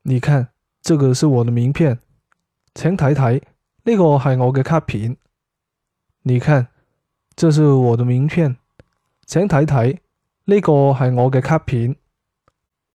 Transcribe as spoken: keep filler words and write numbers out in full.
你看，這個是我的名片，請睇睇，呢個係我嘅卡片。你看，這是我的名片，請睇睇，呢個係我嘅卡片。